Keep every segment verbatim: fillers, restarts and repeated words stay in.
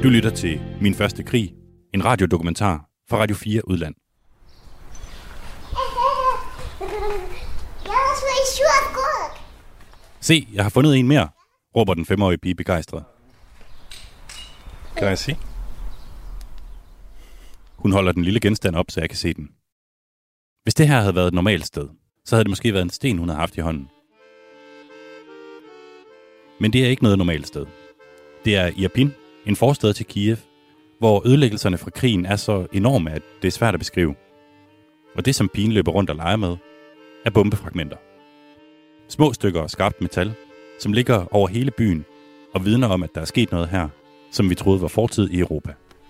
Du lytter til Min Første Krig, en radiodokumentar fra Radio fire Udland. Se, jeg har fundet en mere, råber den femårige pige begejstret. Kan jeg se? Hun holder den lille genstand op, så jeg kan se den. Hvis det her havde været et normalt sted, så havde det måske været en sten, hun havde haft i hånden. Men det er ikke noget normalt sted. Det er Irpin, en forstad til Kiev, hvor ødelæggelserne fra krigen er så enorme, at det er svært at beskrive. Og det, som pigen løber rundt og leger med, er bombefragmenter. Små stykker af skarpt metal, som ligger over hele byen og vidner om, at der er sket noget her, som vi troede var fortid i Europa.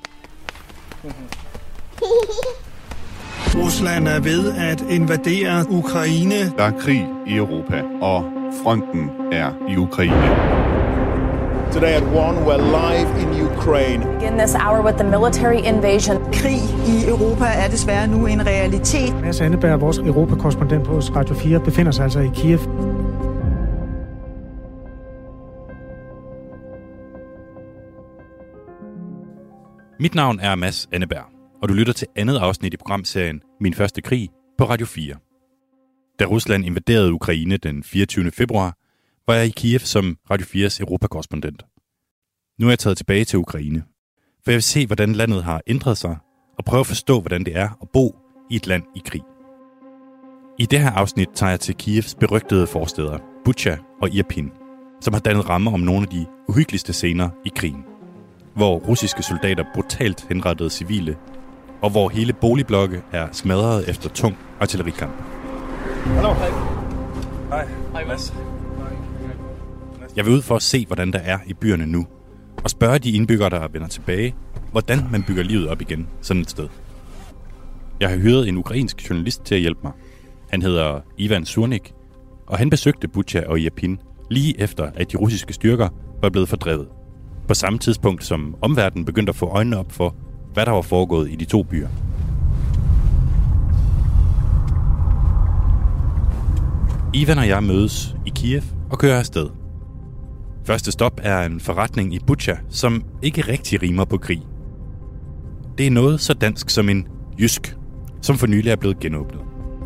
Rusland er ved at invadere Ukraine. Der er krig i Europa, og fronten er i Ukraine. Today at one, we're live in Ukraine. Begin this hour with the military invasion. Krig i Europa er desværre nu en realitet. Mads Anneberg, vores europakorrespondent på Radio fire, befinder sig altså i Kiev. Mit navn er Mads Anneberg, og du lytter til andet afsnit i programserien Min Første Krig på Radio fire. Da Rusland invaderede Ukraine den fireogtyvende februar, var jeg i Kiev som Radio fires europakorrespondent. Nu er jeg taget tilbage til Ukraine, for jeg vil se, hvordan landet har ændret sig, og prøve at forstå, hvordan det er at bo i et land i krig. I det her afsnit tager jeg til Kievs berygtede forstæder, Bucha og Irpin, som har dannet rammer om nogle af de uhyggeligste scener i krigen, hvor russiske soldater brutalt henrettede civile, og hvor hele boligblokke er smadret efter tung artillerikamp. Hallo. Hej. Hej. Hej, Mads. Jeg vil ud for at se, hvordan der er i byerne nu, og spørge de indbyggere, der vender tilbage, hvordan man bygger livet op igen sådan et sted. Jeg har hyret en ukrainsk journalist til at hjælpe mig. Han hedder Ivan Surnik, og han besøgte Bucha og Irpin lige efter, at de russiske styrker var blevet fordrevet. På samme tidspunkt, som omverdenen begyndte at få øjnene op for, hvad der var foregået i de to byer. Ivan og jeg mødes i Kiev og kører afsted. Første stop er en forretning i Bucha, som ikke rigtig rimer på krig. Det er noget så dansk som en jysk, som for nylig er blevet genåbnet.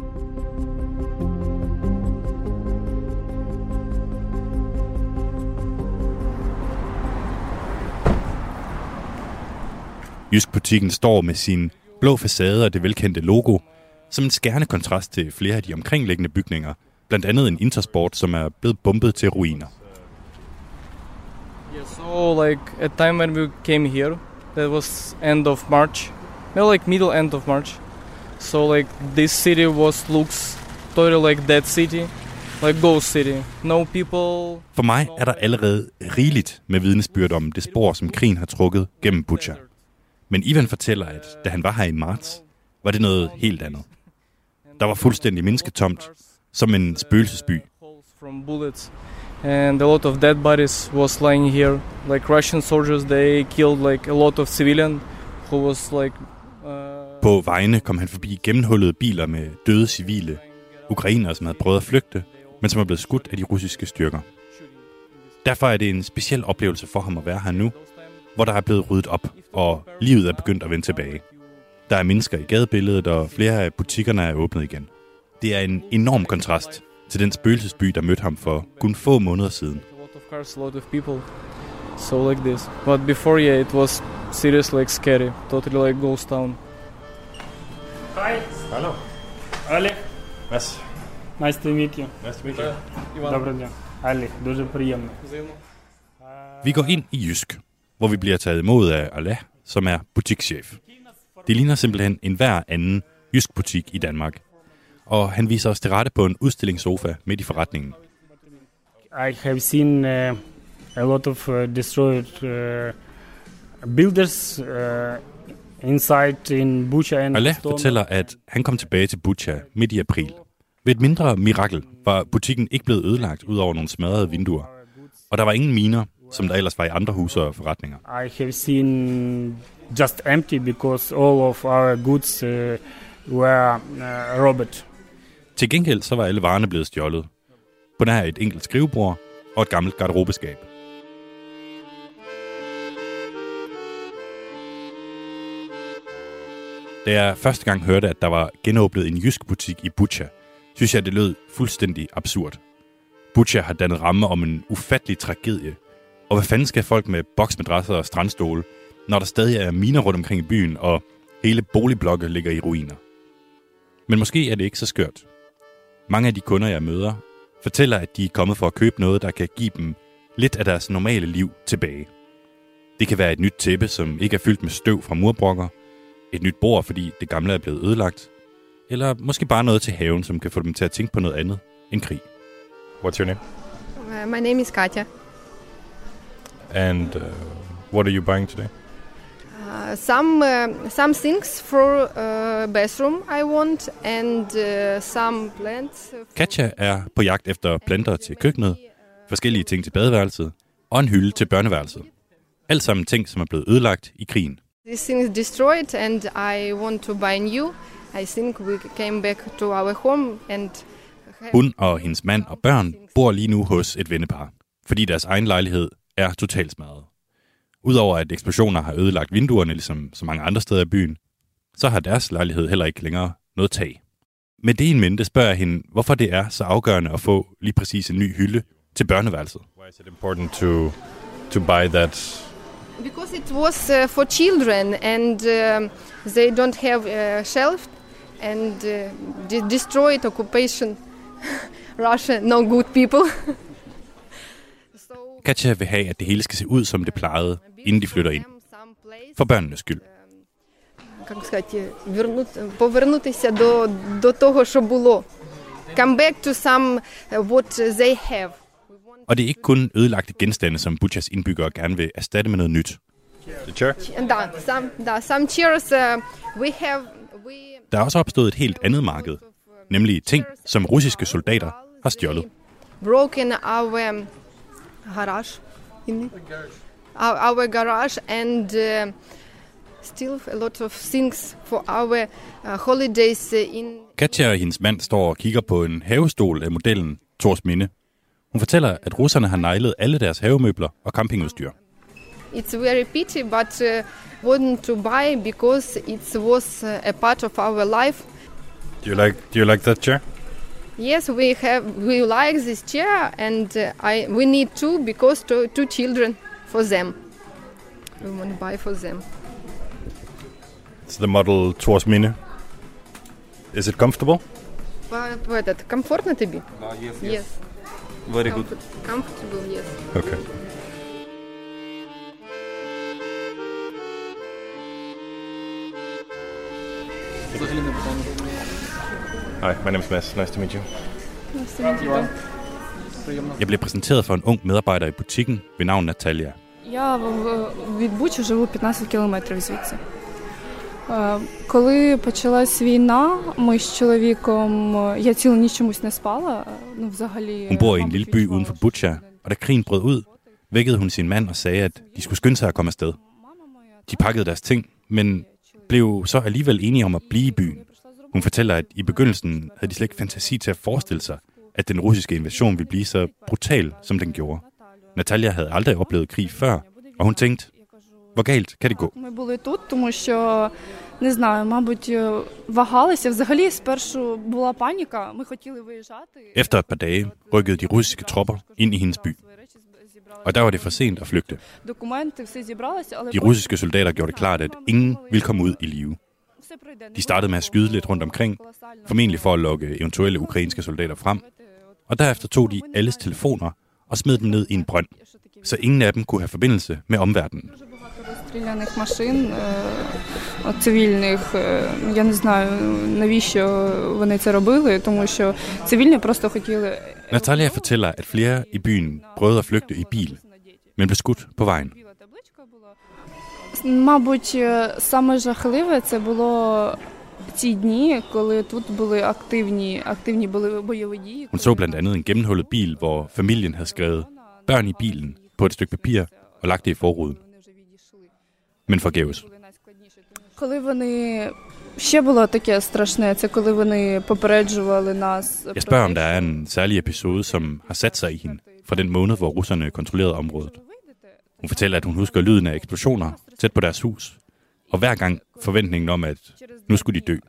Jysk-butikken står med sin blå facade og det velkendte logo, som en skærende kontrast til flere af de omkringliggende bygninger, blandt andet en Intersport, som er blevet bombet til ruiner. Yeah, so like at time when we came here, that was end of March, well like middle end of March. So like this city was looks totally like dead city, like ghost city. No people. For mig er der allerede rigeligt med vidnesbyrd om det spor, som krigen har trukket gennem Bucha. Men Ivan fortæller, at da han var her i marts, var det noget helt andet. Der var fuldstændig mennesketomt, som en spøgelsesby. And a lot of dead bodies was lying here. Like Russian soldiers, they killed like a lot of civilians who was like. Uh... På vejene kom han forbi gennemhullede biler med døde civile, ukrainere, som havde prøvet at flygte, men som er blevet skudt af de russiske styrker. Derfor er det en speciel oplevelse for ham at være her nu, hvor der er blevet ryddet op, og livet er begyndt at vende tilbage. Der er mennesker i gadebilledet, og flere af butikkerne er åbnet igen. Det er en enorm kontrast til den spøgelsesby, der mødte ham for kun få måneder siden. A lot of cars, a lot of people. So like this. But before, yeah, it was seriously like scary. Totally like ghost town. Hi. Hallo. Олег. Mads. Nice to meet you. Nice to meet you. Добрий день. Олег, дуже приємно. Vi går ind i Jysk, hvor vi bliver taget imod af Allah, som er butikschef. Det ligner simpelthen en hver anden jysk butik i Danmark. Og han viser os til rette på en udstillingssofa midt i forretningen. I have seen uh, a lot of uh, destroyed uh, builders uh, inside in Bucha and Allah fortæller, at han kom tilbage til Bucha midt i april. Ved et mindre mirakel var butikken ikke blevet ødelagt ud over nogle smadrede vinduer. Og der var ingen miner, som der ellers var i andre huse og forretninger. I have seen just empty because all of our goods uh, were uh, robbed. Til gengæld så var alle varerne blevet stjålet. På nær et enkelt skrivebord og et gammelt garderobeskab. Da jeg første gang hørte, at der var genåbnet en jysk butik i Bucha, synes jeg, det lød fuldstændig absurd. Bucha har dannet ramme om en ufattelig tragedie. Og hvad fanden skal folk med boksmadrasser og strandstole, når der stadig er miner rundt omkring i byen, og hele boligblokke ligger i ruiner? Men måske er det ikke så skørt. Mange af de kunder, jeg møder, fortæller, at de er kommet for at købe noget, der kan give dem lidt af deres normale liv tilbage. Det kan være et nyt tæppe, som ikke er fyldt med støv fra murbrokker, et nyt bord, fordi det gamle er blevet ødelagt, eller måske bare noget til haven, som kan få dem til at tænke på noget andet end krig. What's your name? Uh, my name is Katya. And uh, what are you buying today? Uh, some uh, some things for uh, bathroom I want, and uh, some plants. Katja er på jagt efter planter til køkkenet, forskellige ting til badeværelset og en hylde til børneværelset. Alt sammen ting, som er blevet ødelagt i krigen. This thing is destroyed, and I want to buy new. I think we came back to our home, and hun og hendes mand og børn bor lige nu hos et vennepar, fordi deres egen lejlighed er totalt smadret. Udover at eksplosioner har ødelagt vinduerne, ligesom så mange andre steder i byen, så har deres lejlighed heller ikke længere noget tag. Med det i mente spørger jeg hende, hvorfor det er så afgørende at få lige præcis en ny hylde til børneværelset. Why is it important to to buy that? Because it was uh, for children, and uh, they don't have a shelf, and uh, de- destroyed occupation. Russia, no good people. Katja vil have, at det hele skal se ud, som det plejede, inden de flytter ind. For børnenes skyld. Как сказати, повернутися до до того, що було. Come back to some what they have. Og det er ikke kun ødelagte genstande, som Buchas indbyggere gerne vil erstatte med noget nyt. The chair? Da, some, da, some chairs uh, we have. We Der er også opstået et helt andet marked, nemlig ting, som russiske soldater har stjålet. Broken our garage, our, our garage, and uh, still a lot of things for our uh, holidays in. Katja og hendes mand står og kigger på en havestol af modellen Thorsminde. Hun fortæller, at russerne har neglet alle deres havemøbler og campingudstyr. It's very pity, but uh, wouldn't to buy because it was uh, a part of our life. Do you like do you like that chair? Yes, we have we like this chair, and uh, I we need two because two, two children for them. We want to buy for them. It's the model Thorsminde. Is it comfortable? But that comfortable to be? Uh, yes, yes. Yes. Very good. Comfortable, yes. Okay. Hi, my name is Mads. Nice to meet you. Nice to meet you. Jeg blev præsenteret for en ung medarbejder i butikken ved navn Natalia. Я від Бучі живу п'ятнадцять кілометрів звідси. Коли почалась війна, ми з чоловіком, я цілу ніч чомусь не спала, ну взагалі. Hun bor i en lille by uden for Bucha, og da krigen brød ud, vækkede hun sin mand og sagde, at de skulle skynde sig at komme afsted. De pakkede deres ting, men blev så alligevel enige om at blive i byen. Hun fortæller, at i begyndelsen havde de slet ikke fantasi til at forestille sig, at den russiske invasion ville blive så brutal, som den gjorde. Natalia havde aldrig oplevet krig før, og hun tænkte, hvor galt kan det gå? Ми були тут, тому що, не знаю, мабуть, вагалися. Взагалі, спершу була паніка, ми хотіли виїжджати. Efter et par dage rykkede de russiske tropper ind i hendes by. Og der var det for sent at flygte. Документи, все зібралося, але De russiske soldater gjorde det klart, at ingen ville komme ud i live. De startede med at skyde lidt rundt omkring, formentlig for at lokke eventuelle ukrainske soldater frem. Og derefter tog de alles telefoner og smed dem ned i en brønd, så ingen af dem kunne have forbindelse med omverdenen. Розстріляних машин, цивільних, я не знаю, навіщо вони це робили, тому що цивільні просто хотіли... Natalia fortæller, at flere i byen prøvede at flygte i bil, men blev skudt på vejen. Мабуть, саме жахливе це було ті дні, коли тут були активні, активні були бойові дії. Hun så blandt andet en gennemhullet bil, hvor familien havde skrevet børn i bilen på et stykke papir og lagt det i forruden. Men forgæves. Коли вони ще було таке страшне, це коли вони попереджували нас. Jeg spørger, om der er en særlig episode, som har sat sig i hende fra den måned, hvor russerne kontrollerede området. Hun fortæller, at hun husker lyden af eksplosioner tæt på deres hus, og hver gang forventningen om, at nu skulle de dø.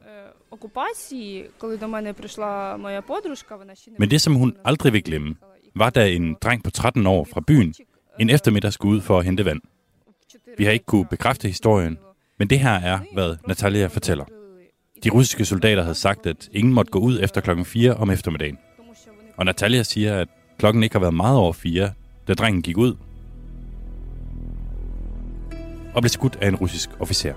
Men det, som hun aldrig vil glemme, var da en dreng på tretten år fra byen en eftermiddag skulle ud for at hente vand. Vi har ikke kunne bekræfte historien, men det her er, hvad Natalia fortæller. De russiske soldater havde sagt, at ingen måtte gå ud efter klokken fire om eftermiddagen. Og Natalia siger, at klokken ikke har været meget over fire, da drengen gik ud og blev skudt af en russisk officer.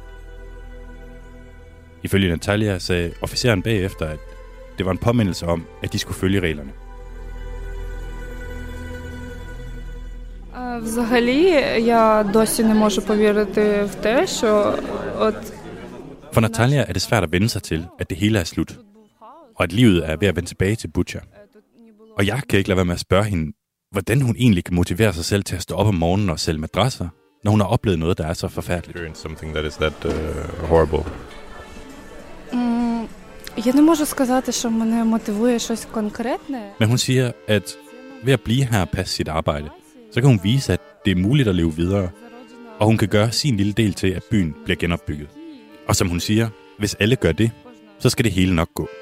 Ifølge Natalia sagde officeren bagefter, at det var en påmindelse om, at de skulle følge reglerne. Взагалі, я досі не можу повірити в те, що от... For Natalia er det svært at vende sig til, at det hele er slut, og at livet er ved at vende tilbage til Bucha. Og jeg kan ikke lade være med at spørge hende, hvordan hun egentlig kan motivere sig selv til at stå op om morgenen og sælge madrasser, når hun har oplevet noget, der er så forfærdeligt. Something that is that uh, horrible. Mm, jeg не можу сказати, що мене мотивує щось конкретне. Men hun siger, at ved at blive her og passe sit arbejde, så kan hun vise, at det er muligt at leve videre, og hun kan gøre sin lille del til, at byen bliver genopbygget. Og som hun siger, hvis alle gør det, så skal det hele nok gå.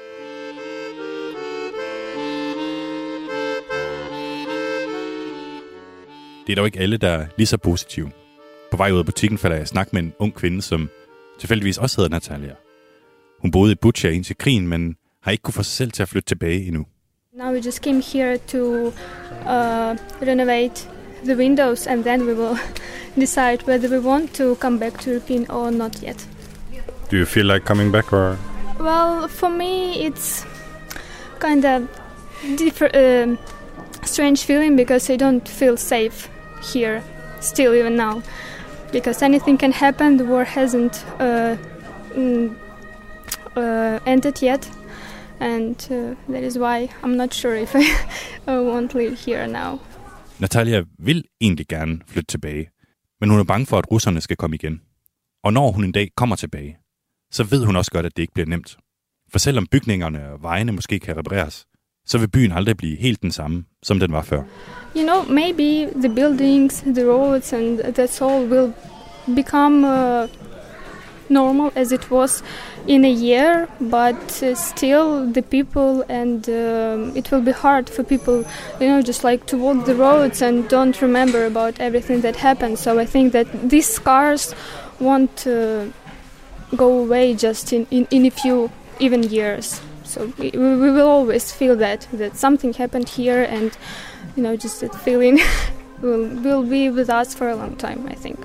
Det er dog ikke alle, der er lige så positive. På vej ud af butikken falder jeg i snak med en ung kvinde, som tilfældigvis også hedder Natalia. Hun boede i Bucha indtil krigen, men har ikke kunne få sig selv til at flytte tilbage endnu. Now we just came here to uh, renovate the windows, and then we will decide whether we want to come back to European or not yet. Do you feel like coming back, or? Well, for me, it's kind of different, uh, strange feeling because I don't feel safe here, still even now, because anything can happen. The war hasn't uh, mm, uh, ended yet, and uh, that is why I'm not sure if I want to live here now. Natalia vil egentlig gerne flytte tilbage, men hun er bange for, at russerne skal komme igen. Og når hun en dag kommer tilbage, så ved hun også godt, at det ikke bliver nemt. For selvom bygningerne og vejene måske kan repareres, så vil byen aldrig blive helt den samme, som den var før. You know, maybe the buildings, the roads and that's all will become uh, normal as it was in a year, but uh, still the people and uh, it will be hard for people, you know, just like to walk the roads and don't remember about everything that happened. So I think that these scars won't uh, go away just in, in, in a few even years. So we, we will always feel that, that something happened here, and, you know, just that feeling will, will be with us for a long time, I think.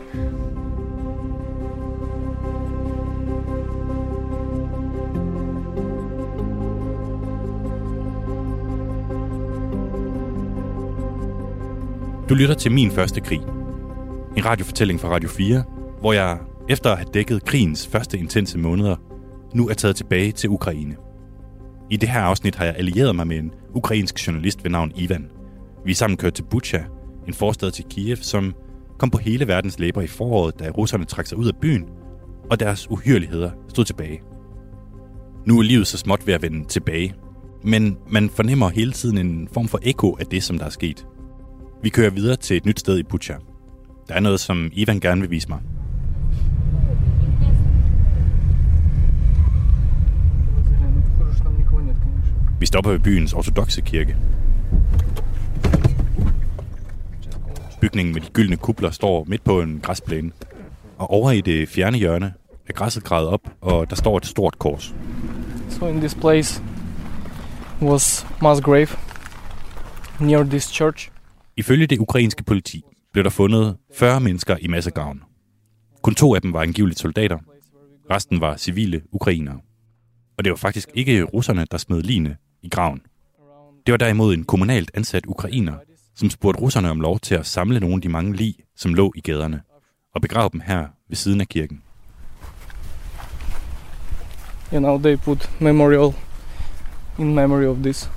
Du lytter til Min Første Krig. En radiofortælling fra Radio fire, hvor jeg, efter at have dækket krigens første intense måneder, nu er taget tilbage til Ukraine. I det her afsnit har jeg allieret mig med en ukrainsk journalist ved navn Ivan. Vi er sammen kørt til Bucha, en forstad til Kiev, som kom på hele verdens læber i foråret, da russerne trak sig ud af byen, og deres uhyrligheder stod tilbage. Nu er livet så småt ved at vende tilbage, men man fornemmer hele tiden en form for ekko af det, som der er sket. Vi kører videre til et nyt sted i Bucha. Der er noget, som Ivan gerne vil vise mig. Vi stopper ved byens ortodokse kirke. Bygningen med de gyldne kupler står midt på en græsplæne. Og over i det fjerne hjørne er græsset gravet op, og der står et stort kors. So in this place was mass grave near this church. Ifølge det ukrainske politi blev der fundet fyrre mennesker i massegraven. Kun to af dem var angiveligt soldater. Resten var civile ukrainere. Og det var faktisk ikke russerne, der smed ligene i graven. Det var derimod en kommunalt ansat ukrainer, som spurgte russerne om lov til at samle nogle af de mange lig, som lå i gaderne, og begrave dem her ved siden af kirken. You know, they put memorial in memory of this.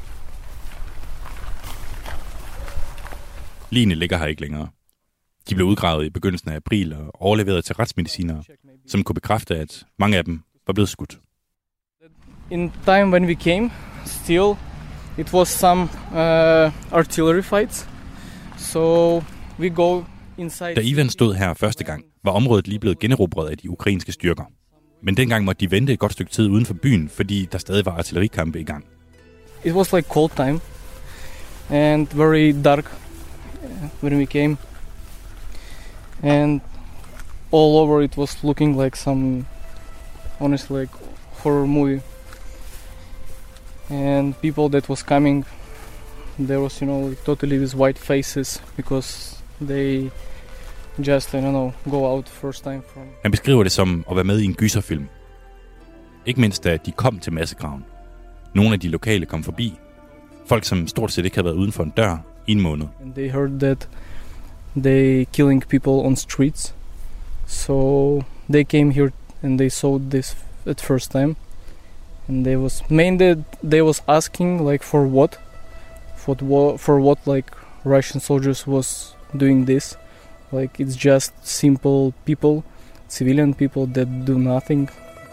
Ligene ligger her ikke længere. De blev udgravet i begyndelsen af april og overleveret til retsmedicinere, som kunne bekræfte, at mange af dem var blevet skudt. In time when we came, still it was some uh, artillery fights. So we go Da Ivan stod her første gang, var området lige blevet generobret af de ukrainske styrker. Men dengang måtte de vente et godt stykke tid uden for byen, fordi der stadig var artillerikampe i gang. It was like cold time and very dark when we came. And all over it was looking like some, honestly, like horror movie. And people that was coming, there was, you know, like totally with white faces because they just, I don't know, go out first time from... Han beskriver det som at være med i en gyserfilm. Ikke mindst da de kom til massegraven. Nogle af de lokale kom forbi. Folk, som stort set ikke havde været uden for en dør i en måned. And they heard that they killing people on streets. So they came here and they saw this at first time. And they was mainly they was asking like for what, for what, for what like Russian soldiers was doing this. Like it's just simple people, civilian people that do nothing.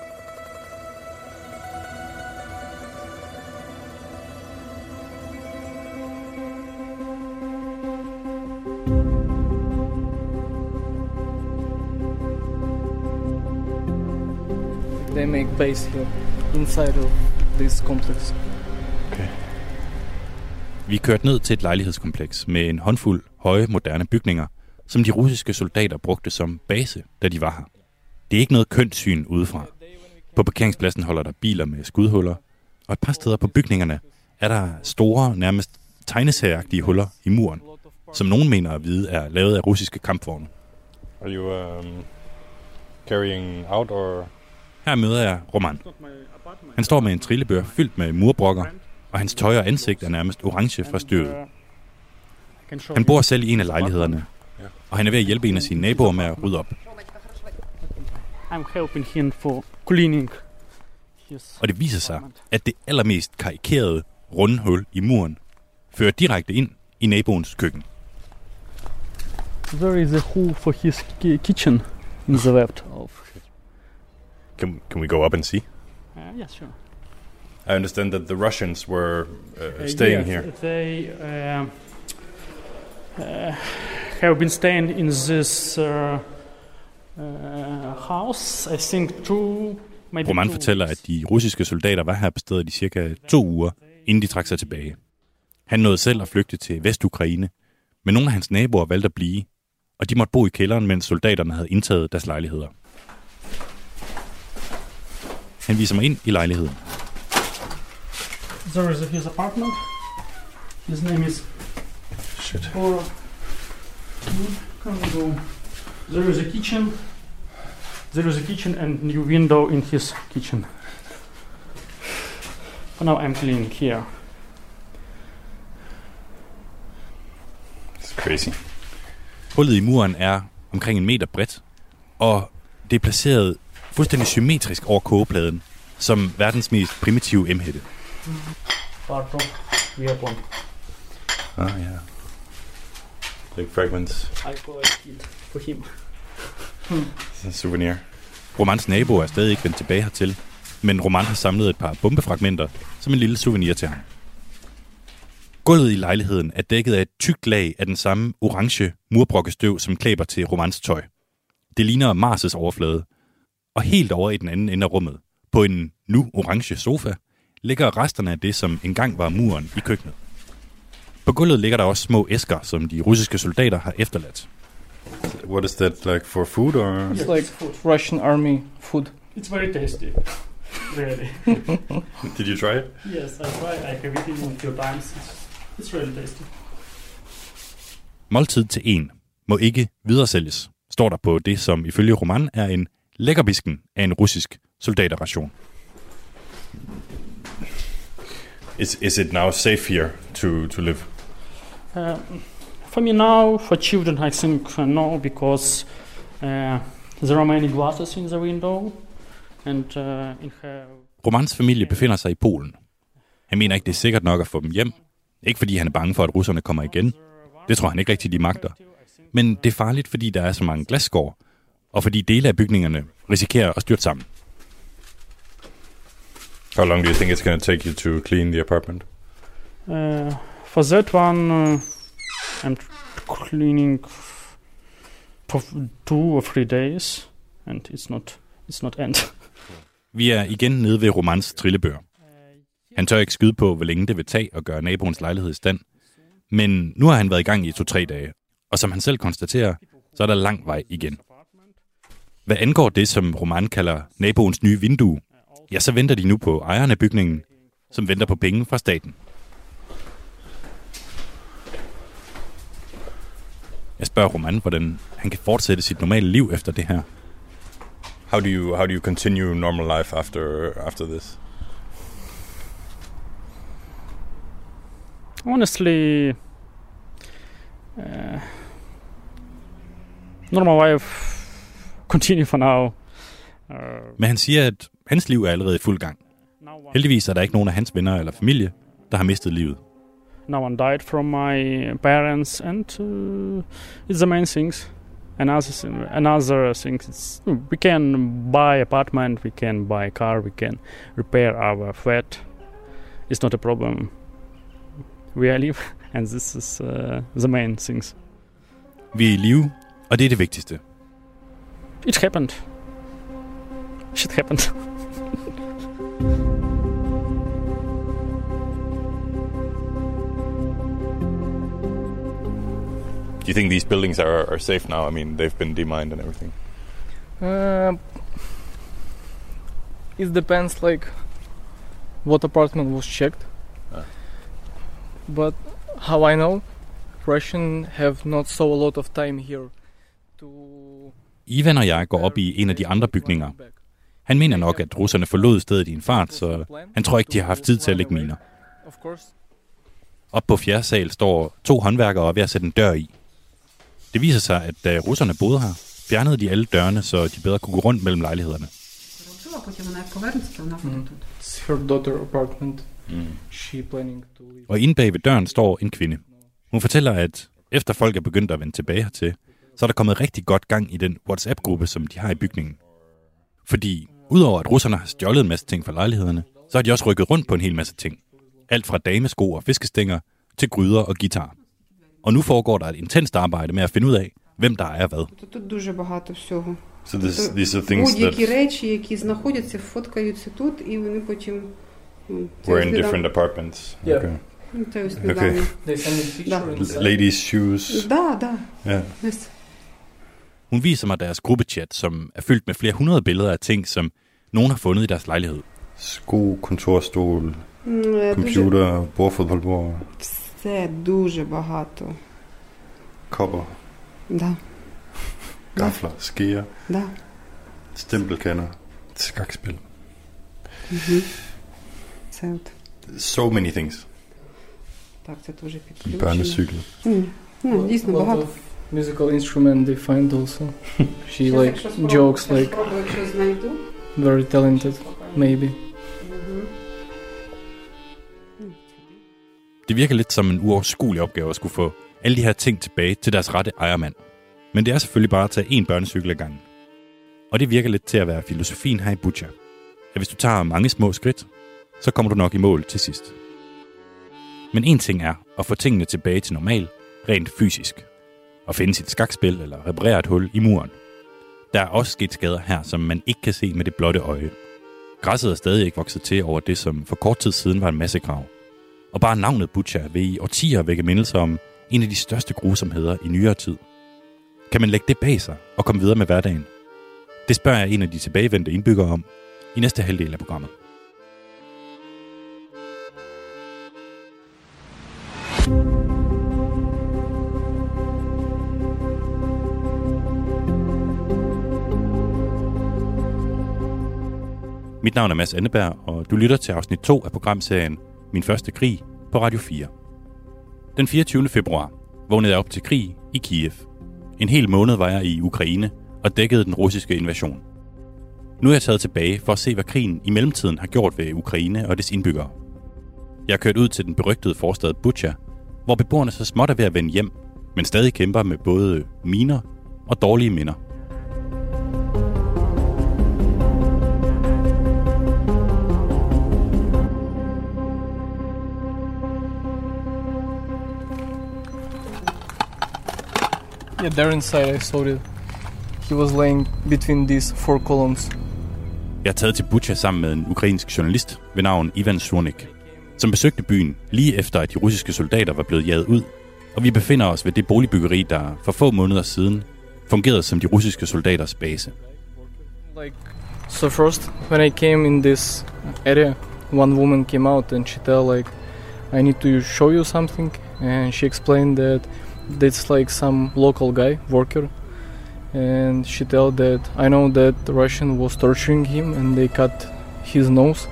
They make base here inside of this complex. Okay. Vi kørte ned til et lejlighedskompleks med en håndfuld høje, moderne bygninger, som de russiske soldater brugte som base, da de var her. Det er ikke noget kønt syn udefra. På parkeringspladsen holder der biler med skudhuller, og et par steder på bygningerne er der store, nærmest tegneserieagtige huller i muren, som nogen mener at vide er lavet af russiske kampvogne. Are you um, carrying out or... Her møder jeg Roman. Han står med en trillebør fyldt med murbrokker, og hans tøj og ansigt er nærmest orange fra støvet. Han bor selv i en af lejlighederne, og han er ved at hjælpe en af sine naboer med at rydde op. I'm helping him for cleaning. Og det viser sig, at det allermest karikerede runde hul i muren fører direkte ind i naboens køkken. There is a hole for his kitchen in the left. Can can we go up and see? Uh, yeah, sure. I understand that the Russians were uh, staying uh, yes, here. They uh, uh, have been staying in this uh, uh, house, I think, two, maybe Roman two fortæller, at de russiske soldater var her på stedet i cirka to uger, inden de trak sig tilbage. Han nåede selv at flygte til Vestukraine, men nogle af hans naboer valgte at blive, og de måtte bo i kælderen, mens soldaterne havde indtaget deres lejligheder. Han viser mig ind i lejligheden. There is his apartment. His name is... Shit. Or... Can we go? There is a kitchen. There is a kitchen and new window in his kitchen. For now I'm cleaning here. It's crazy. Hullet i muren er omkring en meter bredt, og det er placeret fuldstændig symmetrisk over kogepladen, som verdens mest primitive emhætte. Part of weapon. Ah, yeah. Like fragments. I collected for him. It's a souvenir. Romans nabo er stadig ikke vendt tilbage hertil, men Roman har samlet et par bombefragmenter som en lille souvenir til ham. Gulvet i lejligheden er dækket af et tykt lag af den samme orange murbrokkestøv, som klæber til Romans tøj. Det ligner Mars' overflade, og helt over i den anden ende af rummet, på en nu orange sofa, ligger resterne af det, som engang var muren i køkkenet. På gulvet ligger der også små æsker, som de russiske soldater har efterladt. What is that, like for food or? It's like Russian army food. It's very tasty. Really. Did you try it? Yes, I tried. I have eaten it a few times. It's, it's really tasty. Måltid til en må ikke videresælges, står der på det, som ifølge Roman er en lækkerbisken af en russisk soldaterration. Is is it now safe here to to live? Uh, for me now, for children, I think uh, no, because uh, there are many glasses in the window, and uh, in her... Romans familie befinder sig i Polen. Han mener ikke, det er sikkert nok at få dem hjem. Ikke fordi han er bange for, at russerne kommer igen. Det tror han ikke rigtig, de magter. Men det er farligt, fordi der er så mange glasskår, og fordi dele af bygningerne risikerer at styrte sammen. How long do you think it's going to take you to clean the apartment? Uh, for that one, uh, I'm cleaning for two or three days, and it's not it's not end. Vi er igen nede ved Romans trillebør. Han tør ikke skyde på, hvor længe det vil tage at gøre naboens lejlighed i stand. Men nu har han været i gang i to-tre dage, og som han selv konstaterer, så er der lang vej igen. Hvad angår det, som Roman kalder naboens nye vindue, ja, så venter de nu på ejeren af bygningen, som venter på penge fra staten. Jeg spørger Roman, hvordan han kan fortsætte sit normale liv efter det her. How do you how do you continue normal life after after this? Honestly, uh, normal life continue for now. Uh, Men han siger, at hans liv er allerede i fuld gang. Heldigvis er der ikke nogen af hans venner eller familie, der har mistet livet. No one died from my parents, and uh, it's the main things. Another another thing is we can buy apartment, we can buy car, we can repair our flat. It's not a problem. We are live, and this is uh, the main things. Vi er i live, og det er det vigtigste. It happened. Shit happened. Do you think these buildings are, are safe now? I mean, they've been demined and everything. Uh, it depends, like, what apartment was checked. Ah. But how I know, Russian have not so a lot of time here to... Ivan og jeg går op i en af de andre bygninger. Han mener nok, at russerne forlod stedet i en fart, så han tror ikke, de har haft tid til at lægge miner. Op på fjerde sal står to håndværkere og ved at sætte en dør i. Det viser sig, at da russerne boede her, fjernede de alle dørene, så de bedre kunne gå rundt mellem lejlighederne. Mm. It's her daughter apartment. Mm. She planning to leave. Og inde bag ved døren står en kvinde. Hun fortæller, at efter folk er begyndt at vende tilbage hertil, så er der kommet rigtig godt gang i den WhatsApp-gruppe, som de har i bygningen. Fordi udover at russerne har stjålet en masse ting fra lejlighederne, så har de også rykket rundt på en hel masse ting. Alt fra damesko og fiskestænger til gryder og guitar. Og nu foregår der et intenst arbejde med at finde ud af, hvem der er hvad. So this, these are things that were in different apartments. Yeah. Okay. Okay. They send me pictures. Ladies' shoes. Da, da. Yeah. Yes. Hun viser mig deres gruppechat, som er fyldt med flere hundrede billeder af ting, som nogen har fundet i deres lejlighed. Sko, kontorstol, computer, bordfodboldbord. Все дуже багато. Kopper. Да. Gafler, skeer. Да. Stempelkander. Skakspil. Mhm. Це от. So many things. Так, це дуже підключено. Børnecykel. Mm. Mm, дійсно багато. Musical instrument they find also. She like jokes like very talented, maybe. Det virker lidt som en uoverskuelig opgave at skulle få alle de her ting tilbage til deres rette ejermand. Men det er selvfølgelig bare at tage én børnecykel ad gangen. Og det virker lidt til at være filosofien her i Bucha. At hvis du tager mange små skridt, så kommer du nok i mål til sidst. Men en ting er at få tingene tilbage til normal, rent fysisk. Og finde sit skakspil eller reparere et hul i muren. Der er også sket skader her, som man ikke kan se med det blotte øje. Græsset er stadig ikke vokset til over det, som for kort tid siden var en massegrav. Og bare navnet Bucha vil i årtier vække mindelser om en af de største grusomheder i nyere tid. Kan man lægge det bag sig og komme videre med hverdagen? Det spørger jeg en af de tilbagevendte indbyggere om i næste halvdel af programmet. Mit navn er Mads Anneberg, og du lytter til afsnit to af programserien Min første krig på Radio fire. Den fireogtyvende februar vågnede jeg op til krig i Kiev. En hel måned var jeg i Ukraine og dækkede den russiske invasion. Nu er jeg taget tilbage for at se, hvad krigen i mellemtiden har gjort ved Ukraine og dets indbyggere. Jeg er kørt ud til den berygtede forstad Bucha, hvor beboerne så småt er ved at vende hjem, men stadig kæmper med både miner og dårlige minder. Yeah, there inside I saw it. he was laying between these four columns. Jeg er taget til Bucha sammen med en ukrainsk journalist ved navn Ivan Surnik, som besøgte byen lige efter, at de russiske soldater var blevet jaget ud, og vi befinder os ved det boligbyggeri, der for få måneder siden fungerede som de russiske soldaters base. Like, so first, when I came in this area, one woman came out and she tell like, I need to show you something, and she explained that it's like some local guy, worker, and she tell that I know that the Russian was torturing him and they cut his nose.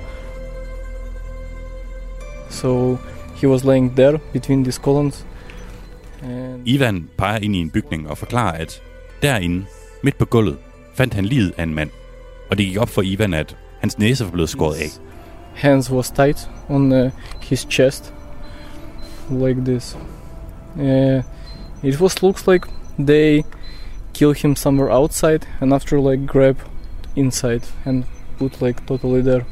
So he was laying there between these columns. And Ivan peger ind i en bygning og forklarer, at derinde, midt på gulvet, fandt han liget af en mand. Og det gik op for Ivan, at hans næse var blevet skåret af. Hands was tight on uh, his chest, like this. Uh, it was looks like they kill him somewhere outside and after like grab inside and put like totally there.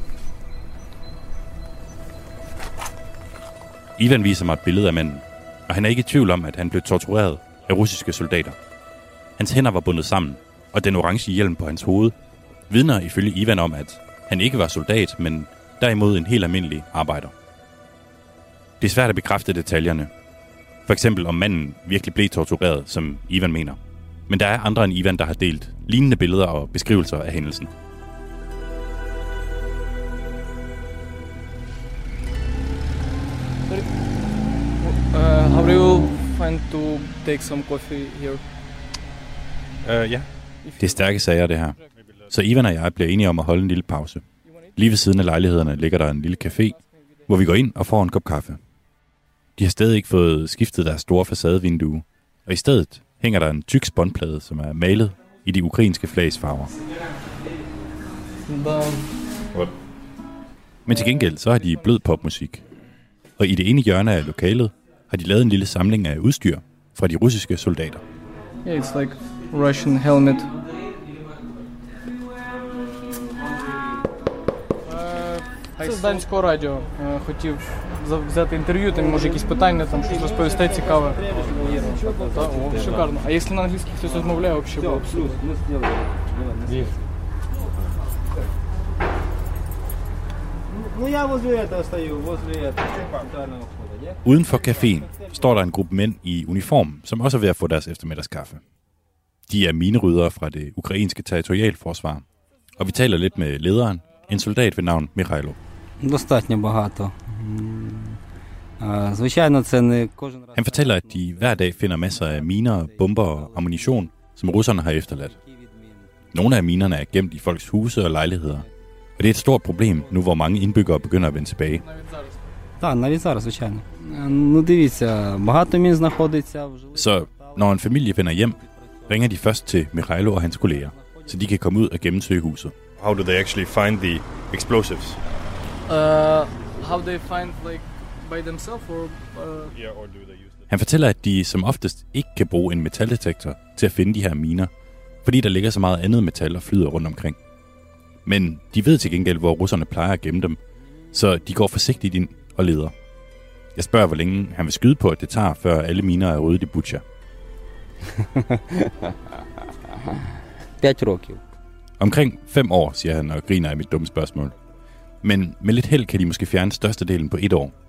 Ivan viser mig et billede af manden, og han er ikke i tvivl om, at han blev tortureret af russiske soldater. Hans hænder var bundet sammen, og den orange hjelm på hans hoved vidner ifølge Ivan om, at han ikke var soldat, men derimod en helt almindelig arbejder. Det er svært at bekræfte detaljerne. For eksempel om manden virkelig blev tortureret, som Ivan mener. Men der er andre end Ivan, der har delt lignende billeder og beskrivelser af hændelsen. Uh, how do you find to take some coffee here? Uh, ja. Det er stærke sager, det her. Så Ivan og jeg bliver enige om at holde en lille pause. Lige ved siden af lejlighederne ligger der en lille café, hvor vi går ind og får en kop kaffe. De har stadig ikke fået skiftet deres store facadevindue, og i stedet hænger der en tyk spånplade, som er malet i de ukrainske flags farver. Men til gengæld så har de blød popmusik. Og i det ene hjørne af lokalet har de lavet en lille samling af udstyr fra de russiske soldater. Yeah, it's like Russian helmet. Це з Данського радіо. Хотів взяти інтерв'ю, там може якісь питання, там щось розповісти цікаве. О, шикарно. А якщо на англійській хтось розмовляє, взагалі було б супер. Ну я возле этого стою, возле этого центрального входа. Uden for caféen står der en gruppe mænd i uniform, som også er ved at få deres eftermiddagskaffe. De er mineryddere fra det ukrainske territorialforsvar, og vi taler lidt med lederen, en soldat ved navn Mikhailo. Достатньо багато. Звичайно, це не кожен раз. Han fortæller, at de hver dag finder masser af miner, bomber og ammunition, som russerne har efterladt. Nogle af minerne er gemt i folks huse og lejligheder, og det er et stort problem nu, hvor mange indbyggere begynder at vende tilbage. Так, навіть зараз, звичайно. Ну дивіться, багато мін знаходиться вже. Så når en familie vender hjem, ringer de først til Mikhailo og hans kolleger, så de kan komme ud og gennemsøge huset. How do they actually find the explosives? Uh, how they find like by themselves or uh... yeah, or do they use them? Han fortæller, at de som oftest ikke kan bruge en metaldetektor til at finde de her miner, fordi der ligger så meget andet metal og flyder rundt omkring. Men de ved til gengæld, hvor russerne plejer at gemme dem, så de går forsigtigt ind og leder. Jeg spørger, hvor længe han vil skyde på, at det tager, før alle miner er ryddet i Bucha. П'ять років. Omkring fem år, siger han og griner af mit dumme spørgsmål. Men med lidt held kan de måske fjerne størstedelen på et år.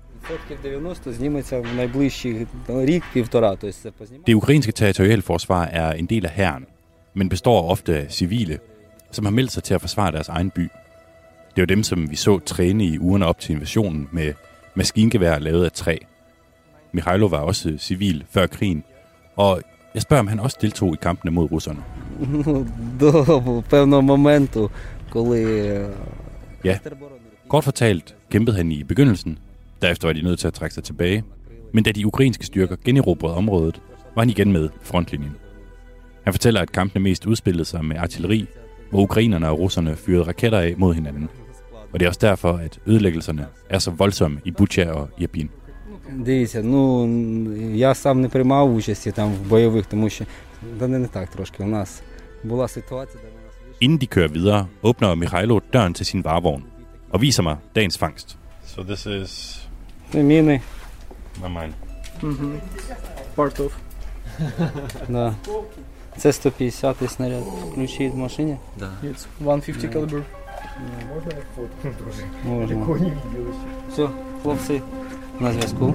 Det ukrainske territorialforsvar er en del af hæren, men består ofte af civile, som har meldt sig til at forsvare deres egen by. Det var dem, som vi så træne i ugerne op til invasionen med maskingevær lavet af træ. Mikhailo var også civil før krigen, og jeg spørger, om han også deltog i kampene mod russerne. До певного моменту, коли... Ja, kort fortalt kæmpede han i begyndelsen. Derefter var de nødt til at trække sig tilbage. Men da de ukrainske styrker generobrede området, var han igen med i frontlinjen. Han fortæller, at kampene mest udspillede sig med artilleri, hvor ukrainerne og russerne fyrede raketter af mod hinanden. Og det er også derfor, at ødelæggelserne er så voldsomme i Bucha og Irpin. Дивіться, ну, я сам не приймав участі там в бойових, тому що да не так трошки. У нас була ситуація, де у нас... Inden de kører videre, åbner Mikhailo døren til sin varevogn og viser mig dagens fangst. So this is... Det er mine. My mine. Mm-hmm. Part of. Да. Це сто п'ятдесят снаряд. Ключі в машині? Да. It's one fifty caliber. Можна я фотку дуже? Можна. Такого не виділося. Все, хлопці, на зв'язку.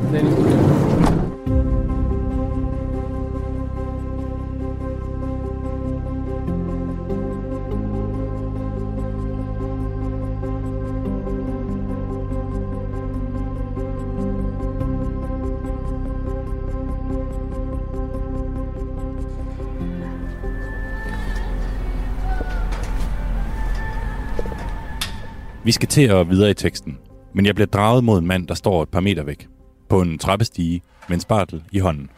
Vi skal til at videre i teksten, men jeg bliver draget mod en mand, der står et par meter væk, på en trappestige med en spartel i hånden.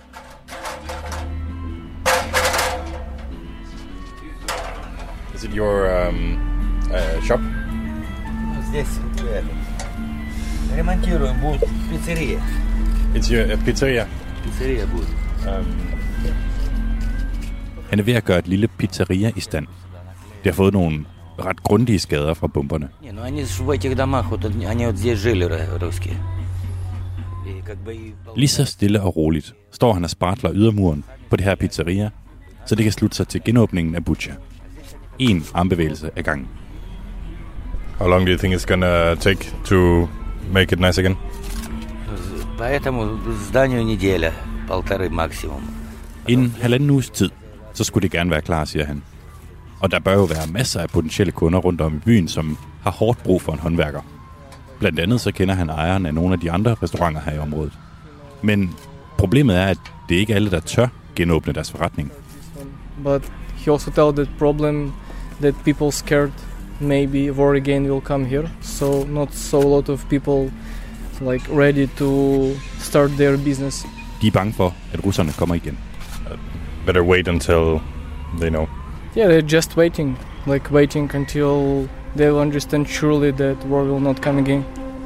Is it your um, uh, shop? Здесь ремонтируем, будет пиццерия. It's your uh, pizzeria? Pizzeria будет. Um, Han er ved at gøre et lille pizzeria i stand. Det har fået nogle ret grundige skader fra bomberne. Не, ну они ж в этих домах, вот они вот здесь жили, русские. И как бы... Lige så stille og roligt står han og spartler ydermuren på det her pizzeria, så det kan slutte sig til genåbningen af Bucha. En armbevægelse ad gangen. How long do you think it's gonna take to make it nice again? Поэтому зданию неделя, полторы максимум. Inden halvanden uges tid, så skulle det gerne være klar, siger han. Og der bør jo være masser af potentielle kunder rundt om i byen, som har hårdt brug for en håndværker. Blandt andet så kender han ejeren af nogle af de andre restauranter her i området. Men problemet er, at det ikke er alle, der tør genåbne deres forretning. But he also tells that problem that people scared maybe war again will come here. So not so a lot of people like ready to start their business. De er bange for, at russerne kommer igen. Uh, better wait until they know. Yeah, they're just waiting, like waiting until they will understand surely that war will not come again.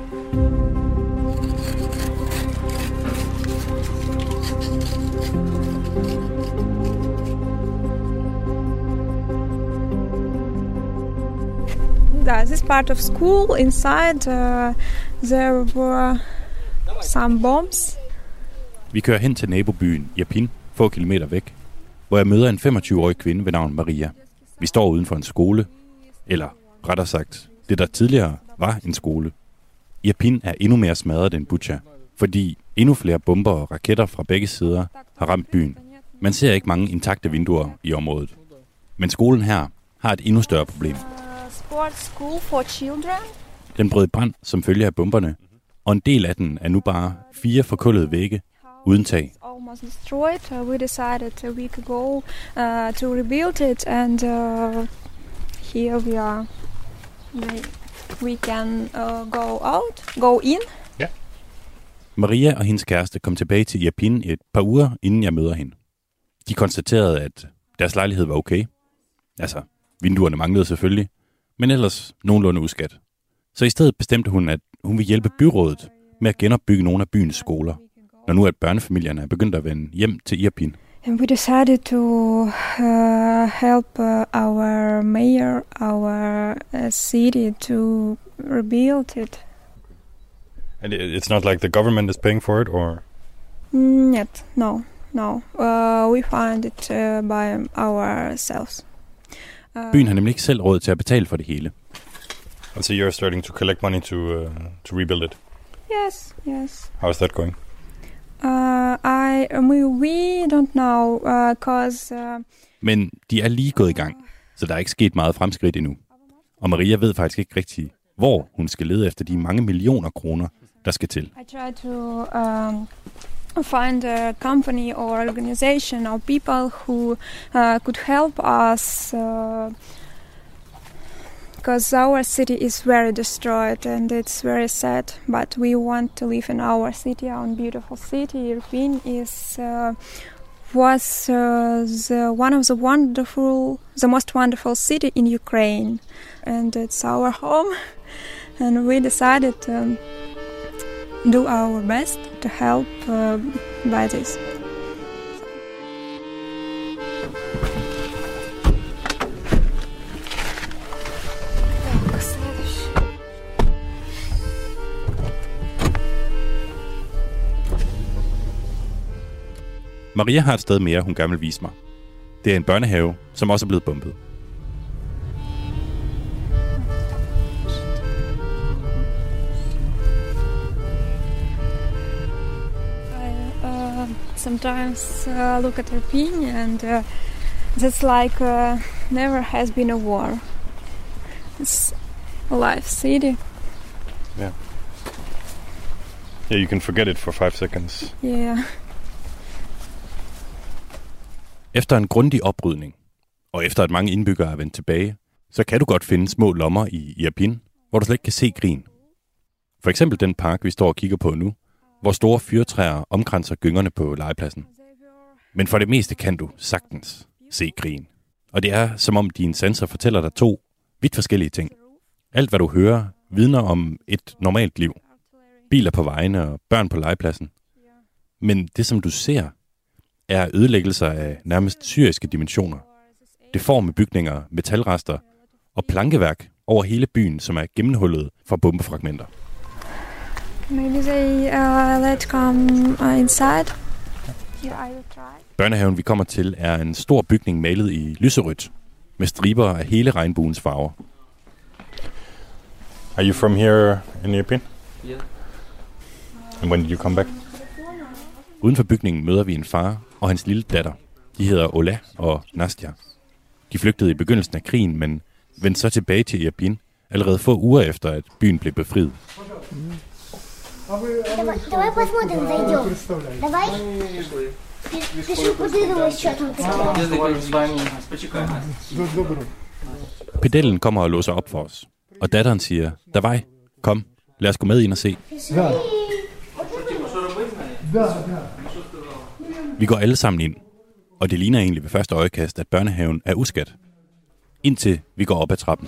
Yeah, this part of school, inside uh, there were some bombs. Vi kører hen til nabobyen Irpin, få kilometer væk, hvor jeg møder en femogtyve-årig kvinde ved navn Maria. Vi står uden for en skole, eller rettere sagt, det der tidligere var en skole. Irpin er endnu mere smadret end Bucha, fordi endnu flere bomber og raketter fra begge sider har ramt byen. Man ser ikke mange intakte vinduer i området. Men skolen her har et endnu større problem. Sports school for children. Den brød i brand som følge af bomberne, og en del af den er nu bare fire forkullede vægge uden tag. Almost destroyed. Uh, we decided a week ago uh, to rebuild it, and uh, here we are. We, we can uh, go out, go in. Yeah. Maria og hendes kæreste kom tilbage til Irpin et par uger, inden jeg møder hende. De konstaterede, at deres lejlighed var okay. Altså, vinduerne manglede selvfølgelig, men ellers nogenlunde uskat. Så i stedet bestemte hun, at hun ville hjælpe byrådet med at genopbygge nogle af byens skoler, når nu at børnefamilierne er begyndt at vende hjem til Irpin. And we decided to uh, help uh, our mayor, our uh, city to rebuild it. And it's not like the government is paying for it, or? Mm, yet, no, no. Uh, we find it uh, by ourselves. Uh, Byen har nemlig ikke selv råd til at betale for det hele. And so you're starting to collect money to uh, to rebuild it? Yes, yes. How is that going? Uh, I we, we don't know, uh, cause. Uh, Men de er lige gået i gang, så der er ikke sket meget fremskridt endnu. Og Maria ved faktisk ikke rigtig, hvor hun skal lede efter de mange millioner kroner, der skal til. I try to um, find a company or organization or people who uh, could help us. Uh, Because our city is very destroyed and it's very sad, but we want to live in our city, our beautiful city. Irpin is uh, was uh, the one of the wonderful, the most wonderful city in Ukraine, and it's our home. And we decided to do our best to help uh, by this. Maria har et sted mere, hun gerne vil vise mig. Det er en børnehave, som også er blevet bombet. Uh, sometimes uh, look at Irpin and uh, that's like uh, never has been a war. It's a live city. Yeah. Yeah, you can forget it for five seconds. Yeah. Efter en grundig oprydning, og efter at mange indbyggere er vendt tilbage, så kan du godt finde små lommer i Irpin, hvor du slet ikke kan se Grin. For eksempel den park, vi står og kigger på nu, hvor store fyrtræer omkranser gyngerne på legepladsen. Men for det meste kan du sagtens se Grin. Og det er, som om dine sanser fortæller dig to vidt forskellige ting. Alt, hvad du hører, vidner om et normalt liv. Biler på vejene og børn på legepladsen. Men det, som du ser, er ødelæggelser af nærmest syriske dimensioner. Deforme bygninger, metalrester og plankeværk over hele byen, som er gennemhullet fra bombefragmenter. Maybe they uh, let come uh, inside. Yeah, I will try. Børnehaven, vi kommer til, er en stor bygning malet i lyserødt, med striber af hele regnbuens farver. Are you from here in Irpin? Yeah. And when did you come back? Uden for bygningen møder vi en far og hans lille datter. De hedder Ola og Nastja. De flygtede i begyndelsen af krigen, men vendte så tilbage til Irpin allerede få uger efter, at byen blev befriet. Давай, давай посмотрим, зайдем. Давай. Пиши, подумай, что там. Pedellen kommer og låser op for os. Og datteren siger, Davai, kom, lad os gå med ind og se. Vi går alle sammen ind, og det ligner egentlig ved første øjekast, at børnehaven er uskat. Indtil vi går op ad trappen.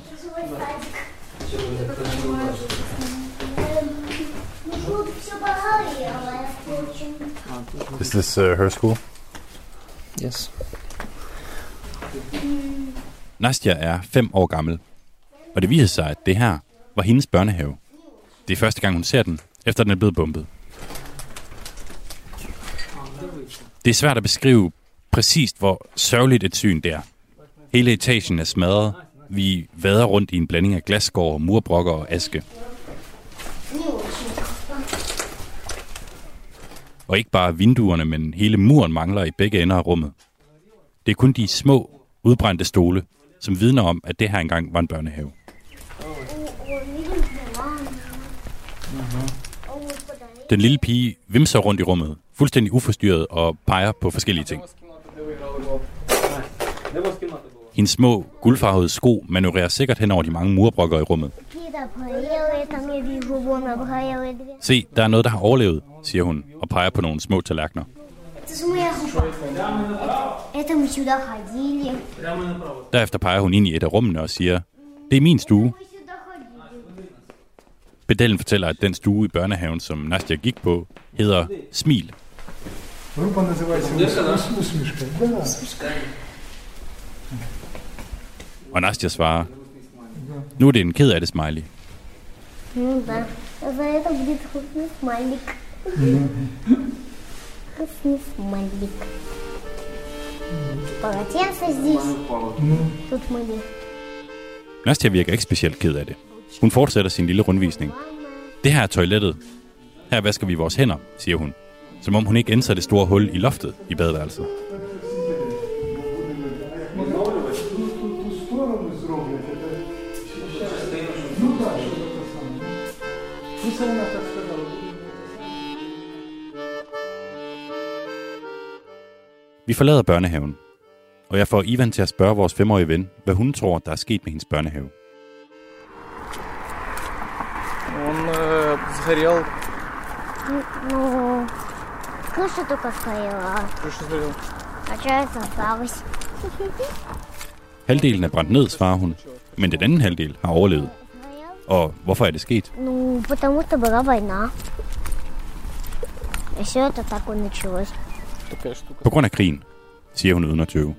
Is this uh, her school? Yes. Nastja er fem år gammel, og det viser sig, at det her var hendes børnehave. Det er første gang, hun ser den, efter den er blevet bombet. Det er svært at beskrive præcist, hvor sørgeligt et syn det er. Hele etagen er smadret. Vi vader rundt i en blanding af glasskår, murbrokker og aske. Og ikke bare vinduerne, men hele muren mangler i begge ender af rummet. Det er kun de små, udbrændte stole, som vidner om, at det her engang var en børnehave. Den lille pige vimser rundt i rummet, fuldstændig uforstyrret og peger på forskellige ting. Hendes små, guldfarvede sko manøvrerer sikkert hen over de mange murbrokker i rummet. Se, der er noget, der har overlevet, siger hun og peger på nogle små tallerkener. Derefter peger hun ind i et af rummene og siger, det er min stue. Pedellen fortæller, at den stue i børnehaven, som Nastja gik på, hedder Smil. Og Nastja svarer, nu er det en ked af det smiley. Ну да, за это будет вкусный смайлик. Вкусный смайлик. Полотенце здесь. Тут мы. Nastja virker ikke specielt ked af det. Hun fortsætter sin lille rundvisning. Det her er toilettet. Her vasker vi vores hænder, siger hun. Som om hun ikke ændrer det store hul i loftet i badeværelset. Vi forlader børnehaven, og jeg får Ivan til at spørge vores femårige ven, hvad hun tror, der er sket med hendes børnehave. Он э, сгорел. Ну, крыша только сгорела. Крыша сгорела. А часть осталась. Halvdelen er brændt ned, svarer hun, men den anden halvdel har overlevet. Og hvorfor er det sket? Ну, потому что была война. И все это так и началось. På grund af krigen, siger hun uden at tøve.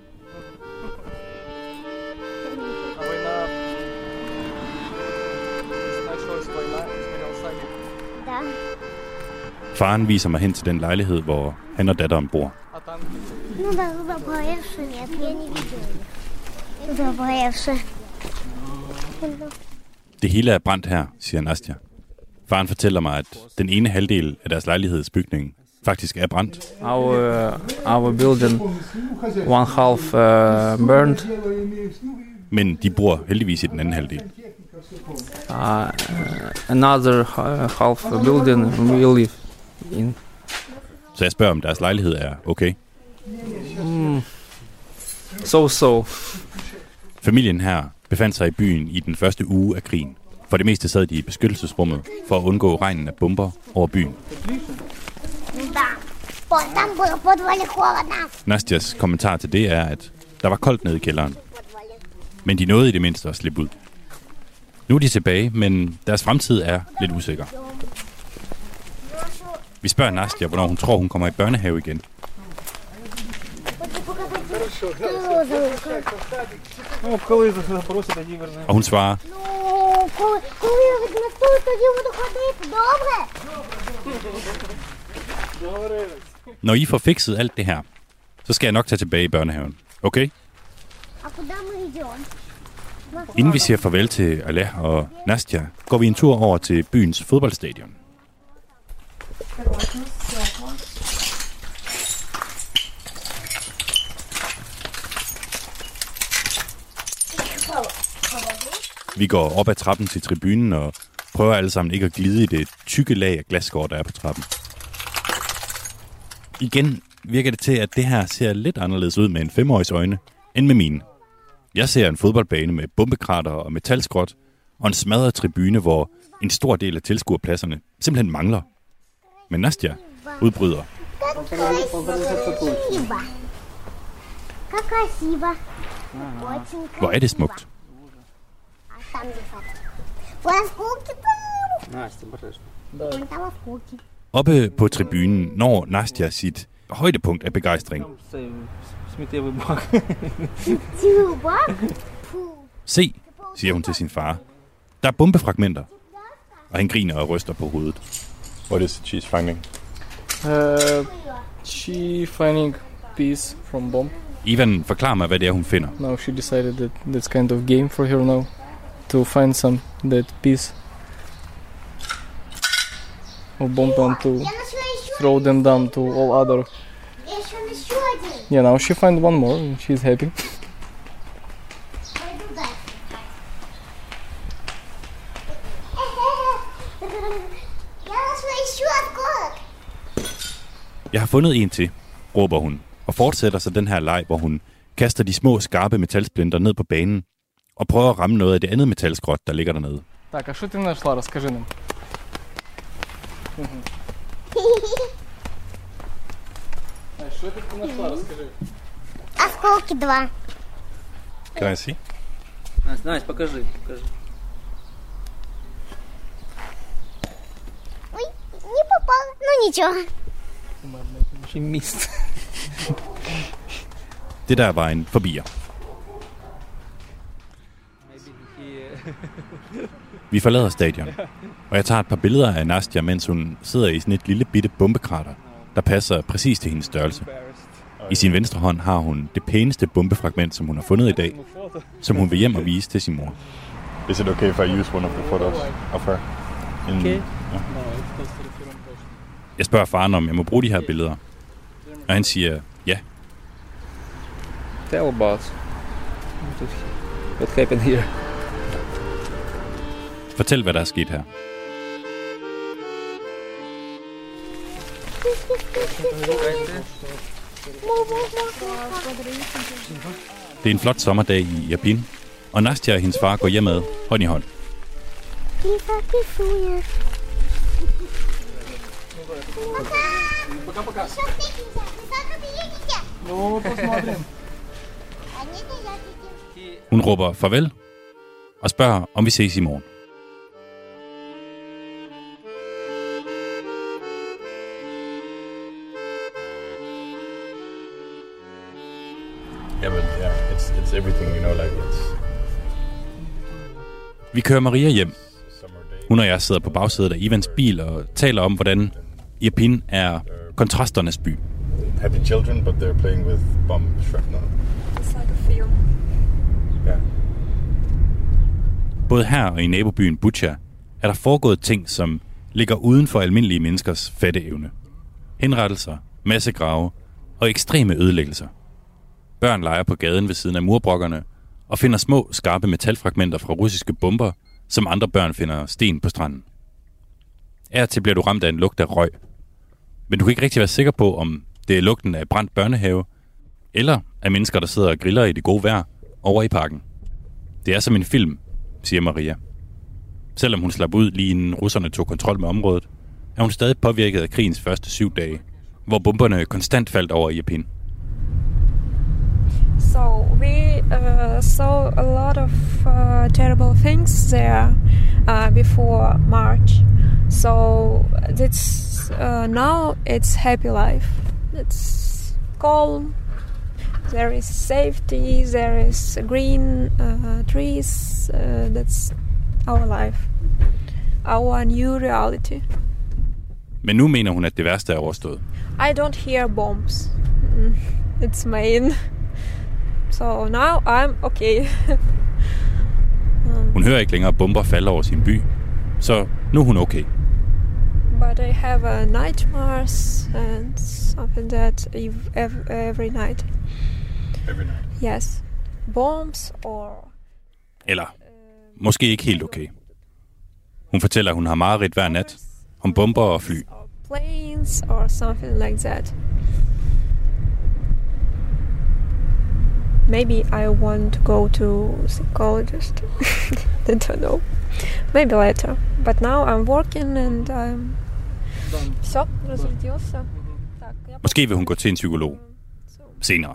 Faren viser mig hen til den lejlighed, hvor han og datteren bor. Ну да, заболевший, нет, я не видела. Заболевший. Det hele er brændt her, siger Nastja. Faren fortæller mig, at den ene halvdel af deres lejlighedsbygning faktisk er brændt. Our uh, our building, one half uh, burned. Men de bor heldigvis i den anden halvdel. Uh, another half building we live in. Så jeg spørger, om deres lejlighed er okay. Mm. So so. Familien her befandt sig i byen i den første uge af krigen. For det meste sad de i beskyttelsesrummet for at undgå regnen af bomber over byen. Nastjas kommentar til det er, at der var koldt nede i kælderen. Men de nåede i det mindste at slippe ud. Nu er de tilbage, men deres fremtid er lidt usikker. Vi spørger Nastja, hvornår hun tror, hun kommer i børnehave igen. Og hun svarer, når I får fikset alt det her, så skal jeg nok tage tilbage i børnehaven. Okay? Inden vi siger farvel til Aleh og Nastja, går vi en tur over til byens fodboldstadion. Vi går op ad trappen til tribunen og prøver alle sammen ikke at glide i det tykke lag af glasskår, der er på trappen. Igen virker det til, at det her ser lidt anderledes ud med en femårigs øjne, end med mine. Jeg ser en fodboldbane med bombekrater og metalskrot, og en smadret tribune, hvor en stor del af tilskuerpladserne simpelthen mangler. Men Nastja udbryder. Hvor er det smukt. Oppe på tribunen når Nastja sit højdepunkt af begejstring. Se, siger hun til sin far. Der er bombefragmenter. Og han griner og ryster på hovedet. What is it she's finding? Uh, she finding piece from bomb. Ivan forklarer mig, hvad det er, hun finder. Now she decided that that's kind of game for her now. To find some that piece of bomb and to throw them down to all other. Yeah, now she find one more and she's happy. Jeg har fundet en til, råber hun, og fortsætter så den her leg, hvor hun kaster de små, skarpe metalsplinter ned på banen og prøver at ramme noget af det andet metalskrot, der ligger dernede. Так, а что ты нашла? Расскажи нам. А что ты нашла? Расскажи. Осколки два. Can I see? Настя, Настя, покажи, покажи. Ой, не попал. Ну ничего. She missed. Det der var en forbier. Vi forlader stadion, og jeg tager et par billeder af Nastja, mens hun sidder i sådan et lille bitte bombekrater, der passer præcis til hendes størrelse. I sin venstre hånd har hun det pæneste bombefragment, som hun har fundet i dag, som hun vil hjem og vise til sin mor. Is it okay if I use one of the photos of her? In, Okay. Yeah. Jeg spørger faren, om jeg må bruge de her billeder, og han siger ja. Tell about what happened here. Fortæl, hvad der er sket her. Det er en flot sommerdag i Irpin, og Nastja og hendes far går hjemad hånd i hånd. Hun råber farvel og spørger, om vi ses i morgen. Yeah, but yeah, it's it's everything, you know, like it's. Vi kører Maria hjem. Hun og jeg sidder på bagsædet af Ivans bil og taler om, hvordan Irpin er kontrasternes by. happy children, but they're playing with bomb shrapnel. It's like a film. Yeah. Både her og i nabobyen Bucha er der foregået ting, som ligger uden for almindelige menneskers fatteevne. Henrettelser, massegrave og ekstreme ødelæggelser. Børn leger på gaden ved siden af murbrokkerne og finder små, skarpe metalfragmenter fra russiske bomber, som andre børn finder sten på stranden. Af til bliver du ramt af en lugt af røg. Men du kan ikke rigtig være sikker på, om det er lugten af brændt børnehave, eller af mennesker, der sidder og griller i det gode vejr over i parken. Det er som en film, siger Maria. Selvom hun slap ud lige inden russerne tog kontrol med området, er hun stadig påvirket af krigens første syv dage, hvor bomberne konstant faldt over Irpin. So we uh, saw a lot of uh, terrible things there uh, before March. So it's uh, now it's happy life. It's calm. There is safety. There is green uh, trees. Uh, that's our life. Our new reality. Men nu mener hun, at det værste er overstået. I don't hear bombs. Mm, it's main. So now I'm okay. um, Hun hører ikke længere bomber falde over sin by, så nu er hun okay. But I have a nightmares and something that ev- every night. Every night? Yes. Bombs or... Eller måske ikke helt okay. Hun fortæller, at hun har mareridt hver nat om bomber og fly. Planes or something like that. Maybe I want to go to psychologist. I don't know. Maybe later. But now I'm working and I'm... Все, разрядился. Måske vil hun gå til en psykolog senere.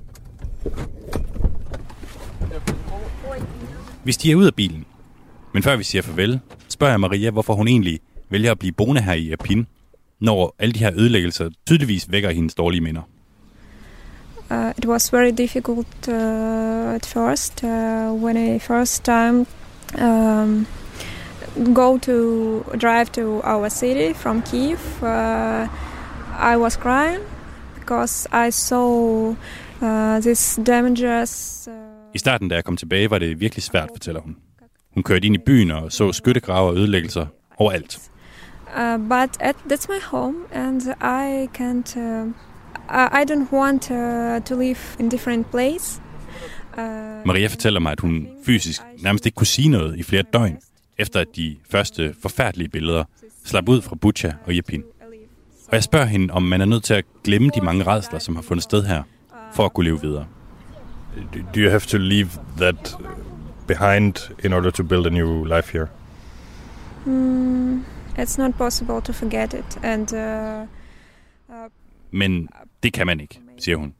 Vi stiger ud af bilen. Men før vi siger farvel, spørger jeg Maria, hvorfor hun egentlig vælger at blive boende her i Irpin, når alle de her ødelæggelser tydeligvis vækker hendes dårlige minder. Uh, it was very difficult uh, at first uh, when I first time um, go to drive to our city from Kiev. Uh, I was crying because I saw uh, this dangerous. Uh... I starten, da jeg kom tilbage, var det virkelig svært, fortæller hun. Hun kørte ind i byen og så skyttegrave og ødelæggelser overalt. Uh, but at, that's my home, and I can't. Uh, I don't want uh, to live in different place. Uh, Maria fortæller mig, at hun fysisk nærmest ikke kunne sige noget i flere døgn, efter at de første forfærdelige billeder slap ud fra Bucha og Irpin. Og jeg spørger hende, om man er nødt til at glemme de mange rædsler, som har fundet sted her, for at kunne leve videre. Do you have to leave that behind in order to build a new life here? Mm, it's not possible to forget it, and. Uh, uh, Men det kan man ikke, siger hun.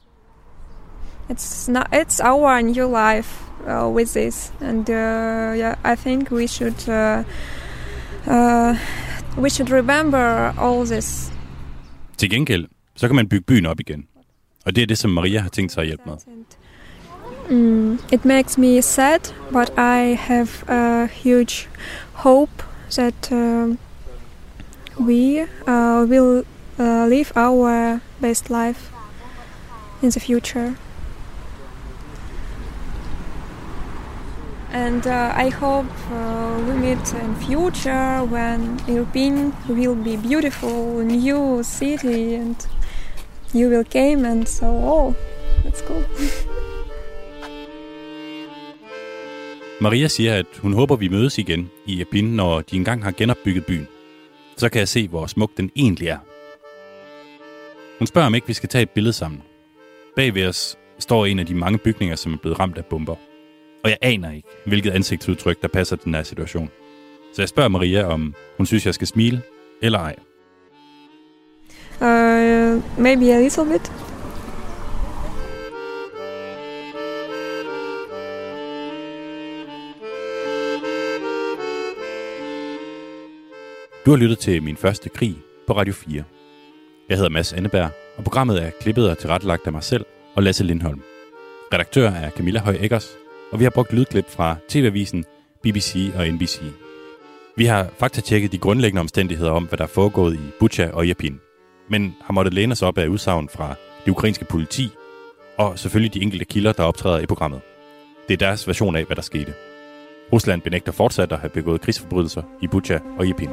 It's not. It's our new life uh, with this, and uh, yeah, I think we should uh, uh, we should remember all this. Til gengæld, så kan man bygge byen op igen, og det er det, som Maria har tænkt sig at hjælpe med. Mm, it makes me sad, but I have a huge hope that uh, we uh, will. Uh, live our best life in the future. And uh, I hope uh, we meet in future when Irpin will be beautiful new city and you will come and so oh, that's cool. Maria siger, at hun håber, vi mødes igen i Irpin, når de engang har genopbygget byen. Så kan jeg se, hvor smuk den egentlig er. Hun spørger, om ikke vi skal tage et billede sammen. Bag ved os står en af de mange bygninger, som er blevet ramt af bomber. Og jeg aner ikke, hvilket ansigtsudtryk, der passer til den her situation. Så jeg spørger Maria, om hun synes, jeg skal smile eller ej. Uh, maybe a little bit. Du har lyttet til Min Første Krig på Radio fire. Jeg hedder Mads Anneberg, og programmet er klippet og tilrettelagt af mig selv og Lasse Lindholm. Redaktør er Camilla Høj Eggers, og vi har brugt lydklip fra T V-avisen, B B C og N B C. Vi har faktatjekket de grundlæggende omstændigheder om, hvad der er foregået i Bucha og Irpin. men har måttet læne sig op af udsagn fra det ukrainske politi, og selvfølgelig de enkelte kilder, der optræder i programmet. Det er deres version af, hvad der skete. Rusland benægter fortsat at have begået krigsforbrydelser i Bucha og Irpin.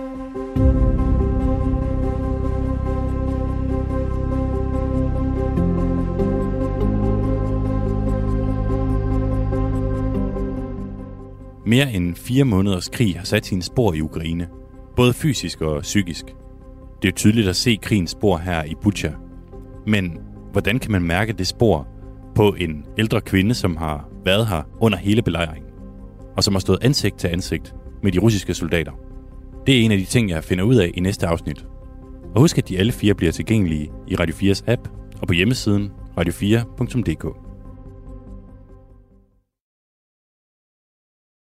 Mere end fire måneders krig har sat sine spor i Ukraine, både fysisk og psykisk. Det er tydeligt at se krigens spor her i Bucha. Men hvordan kan man mærke det spor på en ældre kvinde, som har været her under hele belejringen, og som har stået ansigt til ansigt med de russiske soldater? Det er en af de ting, jeg finder ud af i næste afsnit. Og husk, at de alle fire bliver tilgængelige i Radio fires app og på hjemmesiden radio fire punktum d k.